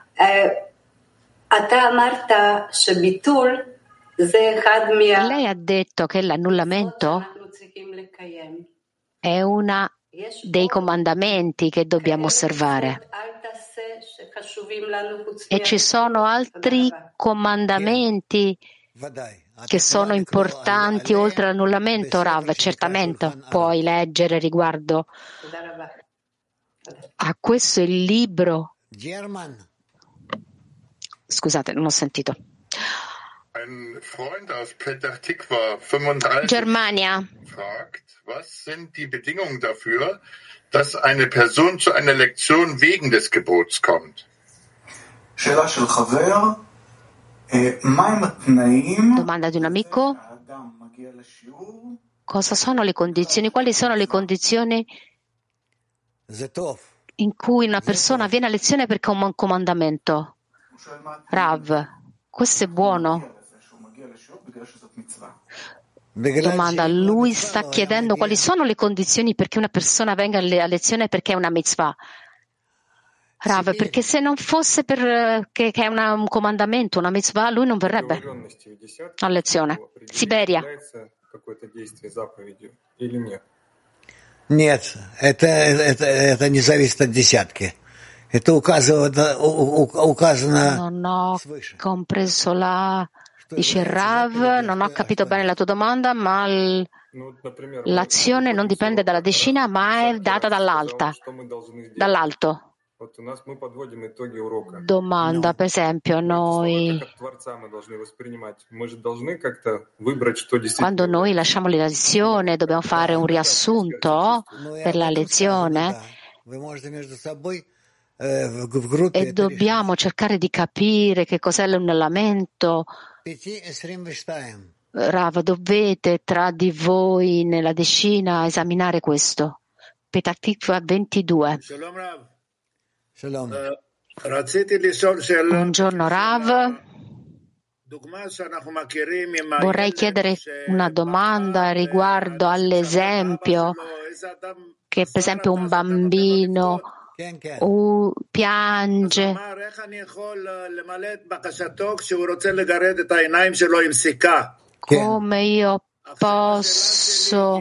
Speaker 16: אתה אמרת שביטול זה אחד
Speaker 1: Lei ha detto che l'annullamento
Speaker 16: שאנחנו צריכים לקיים.
Speaker 1: è una dei comandamenti che dobbiamo osservare. E ci sono altri comandamenti che sono importanti oltre all'annullamento, Rav? Certamente puoi leggere riguardo a questo il libro. Scusate, non ho sentito.
Speaker 17: Ein Freund aus Petach Tikva, 35,
Speaker 1: Germania.
Speaker 17: fragt, was sind die Bedingungen dafür, dass eine Person zu einer Lektion wegen des Gebots kommt?
Speaker 1: Domanda di un amico. Cosa sono le condizioni? Quali sono le condizioni in cui una persona viene a lezione perché ha un comandamento? Rav, questo è buono. Domanda, lui sta chiedendo quali sono le condizioni perché una persona venga a lezione perché è una mitzvah. Rav, perché se non fosse per che è un comandamento, una mitzvah, lui non verrebbe a lezione. Siberia.
Speaker 6: Нет, это не зависит от десятки. Это указано
Speaker 1: Non ho compreso dice Rav, non ho capito bene la tua domanda, ma l'azione non dipende dalla decina, ma è data dall'alto. Domanda, per esempio, quando noi lasciamo la lezione, dobbiamo fare un riassunto per la lezione e dobbiamo cercare di capire che cos'è l'annullamento. Rav, dovete tra di voi nella decina esaminare questo. Petach Tikva 22. Buongiorno Rav. Vorrei chiedere una domanda riguardo all'esempio che per esempio un bambino piange come io posso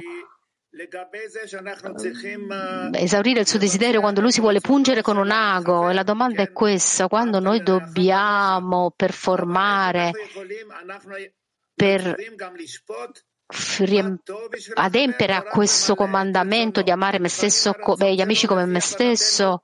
Speaker 1: esaurire il suo desiderio quando lui si vuole pungere con un ago. E la domanda è questa: quando noi dobbiamo performare per adempiere a questo comandamento di amare me stesso, gli amici come me stesso,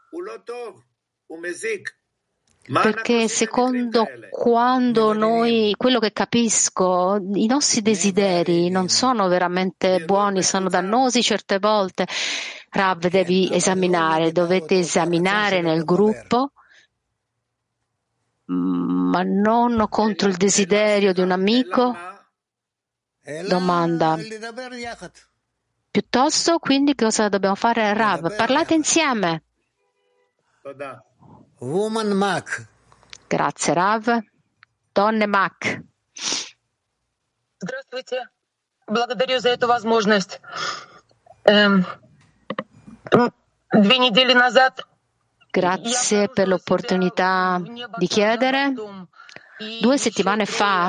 Speaker 1: perché secondo quando noi, quello che capisco, i nostri desideri non sono veramente buoni, sono dannosi certe volte. Rav, dovete esaminare nel gruppo, ma non contro il desiderio di un amico. Domanda. Piuttosto, quindi, cosa dobbiamo fare, Rav? Parlate insieme.
Speaker 6: Woman Mac.
Speaker 1: Grazie, Rav. Donne Mac.
Speaker 18: Здравствуйте. Благодарю за эту возможность. 2 недели назад.
Speaker 1: Grazie per l'opportunità di chiedere. 2 settimane fa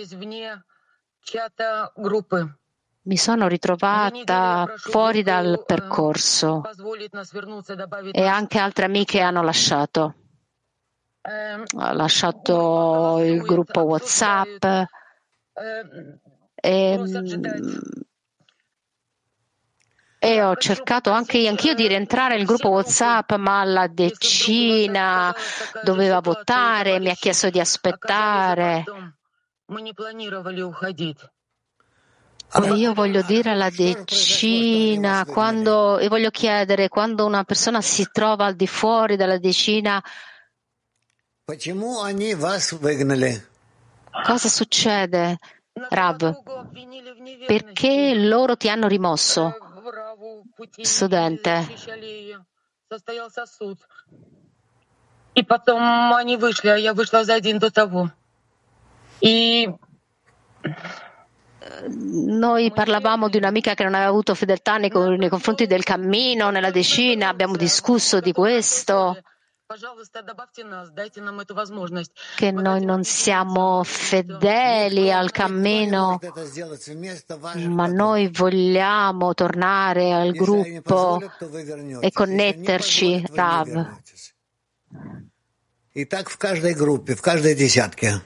Speaker 1: mi sono ritrovata fuori dal percorso e anche altre amiche hanno lasciato. Ha lasciato il gruppo WhatsApp e ho cercato anch'io di rientrare nel gruppo WhatsApp, ma la decina doveva votare, mi ha chiesto di aspettare. E io voglio dire alla decina, e voglio chiedere, quando una persona si trova al di fuori della decina, cosa succede, Rav? Perché loro ti hanno rimosso? Studente.
Speaker 18: И потом они вышли, а я вышла за день до того.
Speaker 1: Noi parlavamo di un'amica che non aveva avuto fedeltà nei confronti del cammino, nella decina, abbiamo discusso di questo, che noi non siamo fedeli al cammino, ma noi vogliamo tornare al gruppo e connetterci, Rav.
Speaker 6: И так в каждой группе, в каждой десятке.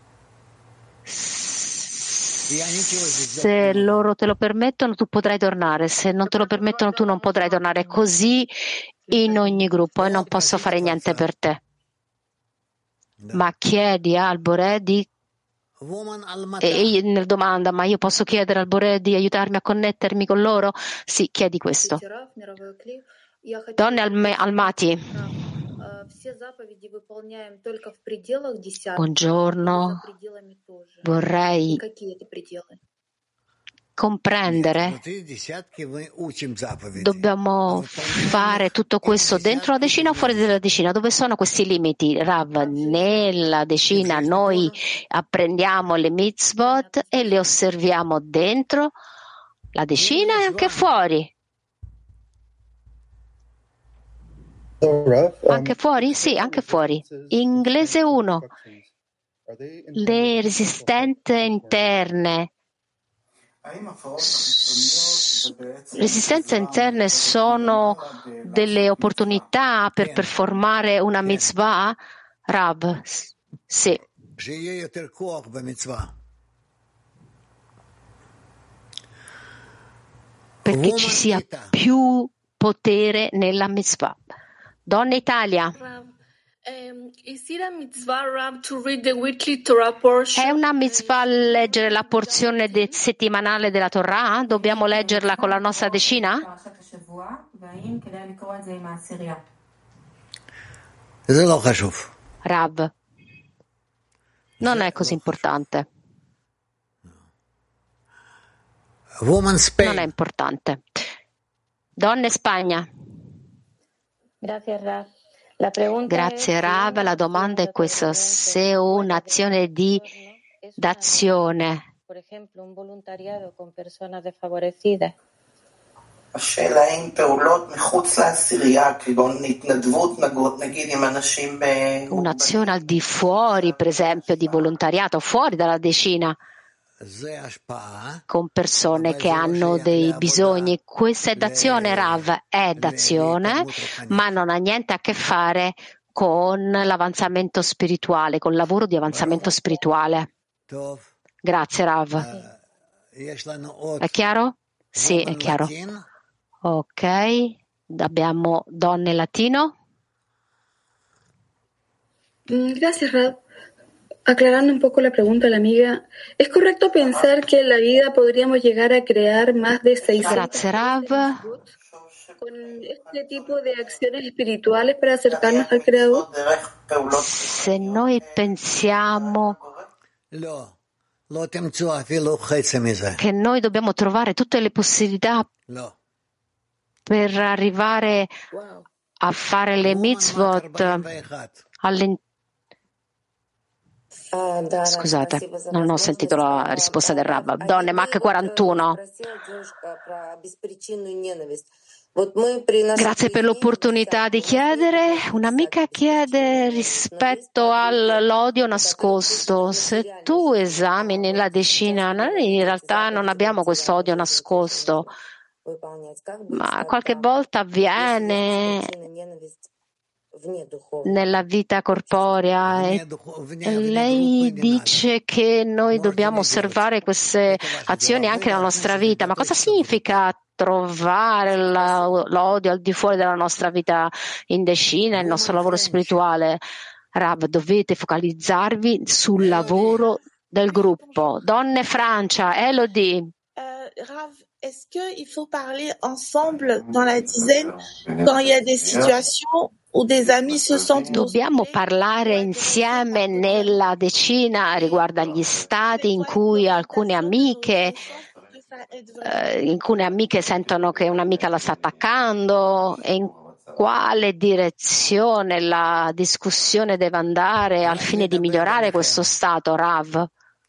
Speaker 1: Se loro te lo permettono, tu potrai tornare. Se non te lo permettono, tu non potrai tornare. Così in ogni gruppo, e non posso fare niente per te. Ma chiedi al Boré di... E nel domanda, ma io posso chiedere al Boré di aiutarmi a connettermi con loro? Sì, chiedi questo. Donne Almati. Buongiorno, vorrei comprendere, dobbiamo fare tutto questo dentro la decina o fuori dalla decina? Dove sono questi limiti, Rav? Nella decina noi apprendiamo le mitzvot e le osserviamo dentro la decina e anche fuori. Anche fuori? Sì, anche fuori. Inglese 1. Le resistenze interne. Resistenze interne sono delle opportunità per performare una mitzvah? Rav? Sì. Perché ci sia più potere nella mitzvah. Donna Italia. È una mitzvah leggere la porzione settimanale della Torah? Dobbiamo leggerla con la nostra decina? Rav, non è così importante. Non è importante. Donne Spagna. Grazie Rav, la domanda è questa: se un'azione d'azione,
Speaker 12: per esempio un volontariato con persone defavorecidas,
Speaker 1: un'azione al di fuori, per esempio di volontariato, fuori dalla decina, con persone che hanno dei bisogni, questa è d'azione, Rav, è d'azione, ma non ha niente a che fare con l'avanzamento spirituale, con il lavoro di avanzamento spirituale. Grazie, Rav. È chiaro? Sì, è chiaro. Ok, abbiamo donne latino.
Speaker 10: Gracias, Rav. Aclarando un poco la pregunta a la amiga, ¿es correcto pensar que en la vida podríamos llegar a crear más de 600
Speaker 1: Grazie, Rav.
Speaker 10: con este tipo de acciones espirituales para acercarnos al Creador?
Speaker 1: Se noi pensiamo che noi dobbiamo trovare tutte le possibilità per arrivare a fare le mitzvot Scusate, non ho sentito la risposta del Rav. Donne, Mach 41. Grazie per l'opportunità di chiedere. Un'amica chiede rispetto all'odio nascosto. Se tu esamini la decina, noi in realtà non abbiamo questo odio nascosto, ma qualche volta avviene nella vita corporea e lei dice che noi dobbiamo osservare queste azioni anche nella nostra vita. Ma cosa significa trovare l'odio al di fuori della nostra vita in decina, il nostro lavoro spirituale? Rav, dovete focalizzarvi sul lavoro del gruppo. Donne Francia, Elodie.
Speaker 19: Rav, est-ce qu'il faut parler ensemble dans la dizaine quand il y a des situations où des amis se sentent...
Speaker 1: Dobbiamo parlare insieme nella decina riguardo agli stati in cui alcune amiche sentono che un'amica la sta attaccando e in quale direzione la discussione deve andare al fine di migliorare questo stato, Rav?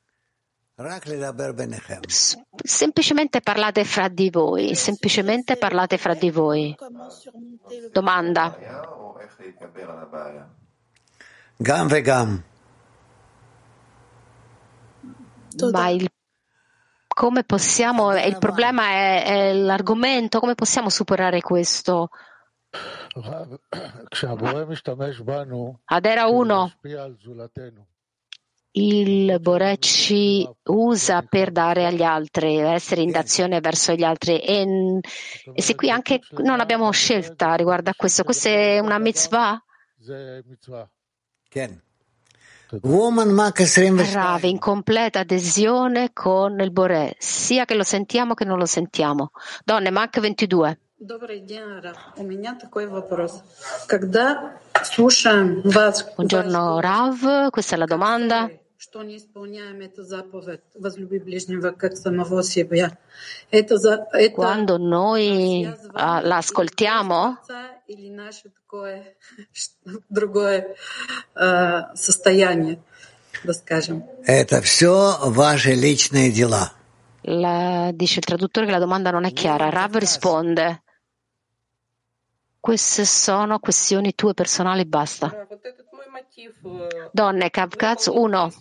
Speaker 1: Semplicemente parlate fra di voi, semplicemente parlate fra di voi. Domanda. Ma come possiamo, il problema è l'argomento, come possiamo superare questo? Adera 1. Il Boré ci usa per dare agli altri, essere in d'azione verso gli altri e se qui anche non abbiamo scelta riguardo a questo, questa è una mitzvah? Rav, in completa adesione con il Boré, sia che lo sentiamo che non lo sentiamo. Donne, Mach 22. Buongiorno Rav, questa è la domanda. Quando noi la ascoltiamo, dice il traduttore che la domanda non è chiara. Rav risponde: queste sono questioni tue personali, basta. Donne, Kavkaz 1.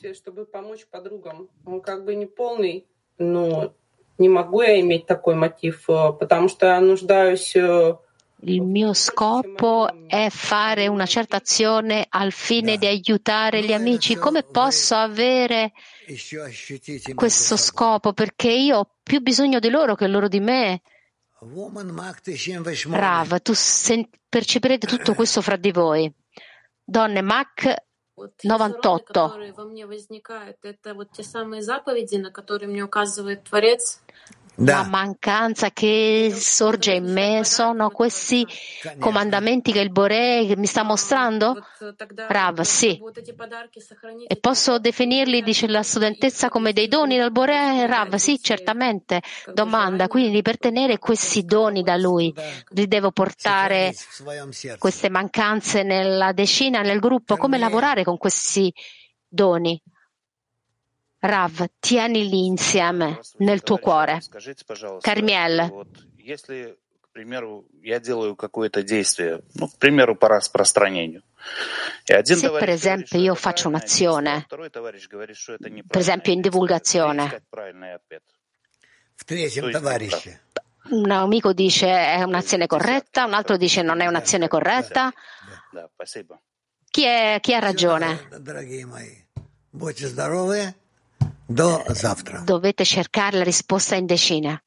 Speaker 1: Il mio scopo è fare una certa azione al fine di aiutare gli amici. Come posso avere questo scopo? Perché io ho più bisogno di loro che loro di me. Rav, tu percepirete tutto questo fra di voi. Donne, Mach 98. La mancanza che sorge in me sono questi comandamenti che il Boré mi sta mostrando? Rav, sì. E posso definirli, dice la studentessa, come dei doni dal Boré? Rav, sì, certamente. Domanda, quindi per tenere questi doni da lui, li devo portare queste mancanze nella decina, nel gruppo? Come lavorare con questi doni? Rav, tienili insieme nel tuo cuore. Carmiel.
Speaker 20: Se
Speaker 1: per esempio io faccio un'azione, per esempio in divulgazione, un amico dice è un'azione corretta, un altro dice non è un'azione corretta. Chi ha ragione? dovete cercare la risposta in decina.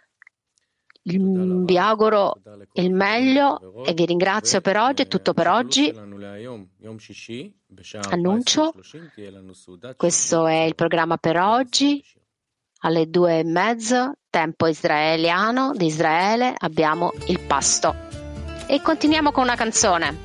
Speaker 1: Vi auguro il meglio e vi ringrazio per oggi. È tutto per oggi. Annuncio, questo è il programma per oggi. Alle 2:30, tempo israeliano di Israele, abbiamo il pasto. E continuiamo con una canzone.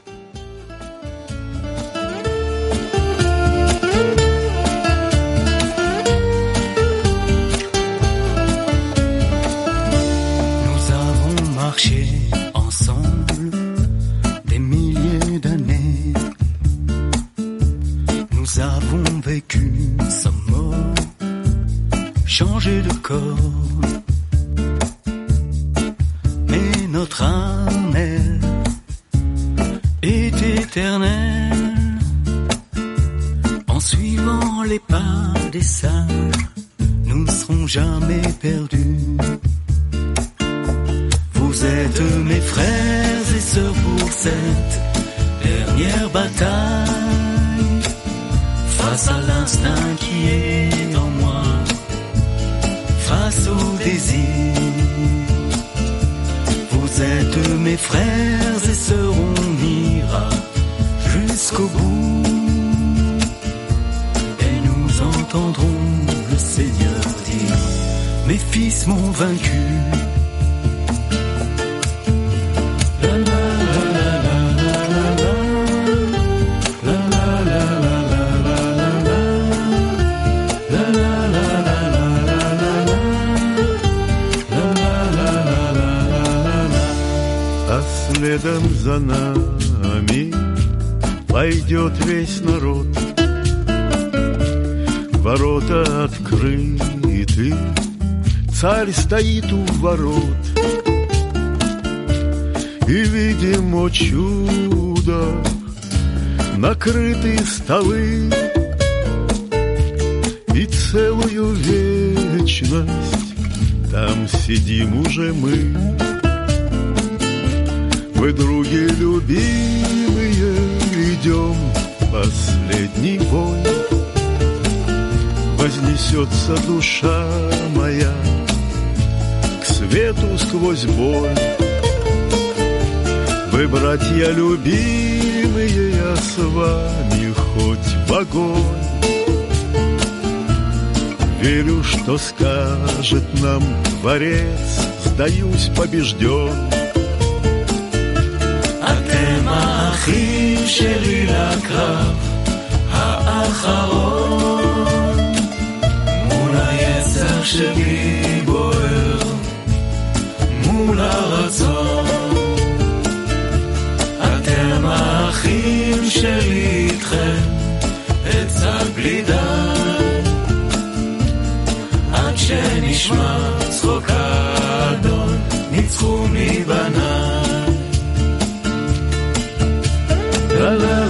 Speaker 20: Marcher ensemble des milliers d'années. Nous avons vécu sans mort, changé de corps. Mais notre âme, elle, est éternelle. En suivant les pas des sages, nous ne serons jamais perdus. Vous êtes mes frères et sœurs pour cette dernière bataille. Face à l'instinct qui est en moi, face au désir. Vous êtes mes frères et sœurs, on ira jusqu'au bout. Et nous entendrons le Seigneur dire, mes fils m'ont vaincu.
Speaker 21: Следом за нами пойдет весь народ. Ворота открыты, царь стоит у ворот. И видим, о чудо, накрыты столы. И целую вечность там сидим уже мы. Мы, други любимые, идем последний бой. Вознесется душа моя к свету сквозь боль. Вы, братья любимые, я с вами хоть в огонь. Верю, что скажет нам Творец, сдаюсь побежден.
Speaker 20: אתם האחים שלי לקרב האחרון, מול היצר שלי בוער, מול הרצון. אתם האחים שלי איתכם, עצה בלי די, עד שנשמע צחוק האדון, ניצחו מבניי. La la